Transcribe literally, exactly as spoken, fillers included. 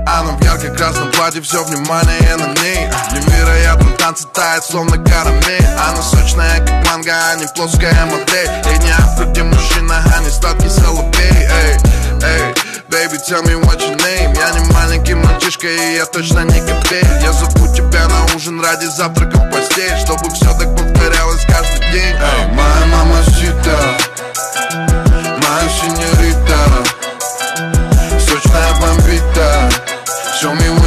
Она в ярко-красном платье, все внимание на ней. Невероятно танцы тает, словно карамель. Она сочная, как манго, а не плоская модель. Ей не Африки мужчина, а не сладкий соловей. Эй, эй, baby, tell me what your name. Я не маленький мальчишка, и я точно не копей. Я зову тебя на ужин ради завтрака в постель, чтобы все так повторялось каждый день. Эй, моя мамасита, моя синьорита, сочная бомбита, show me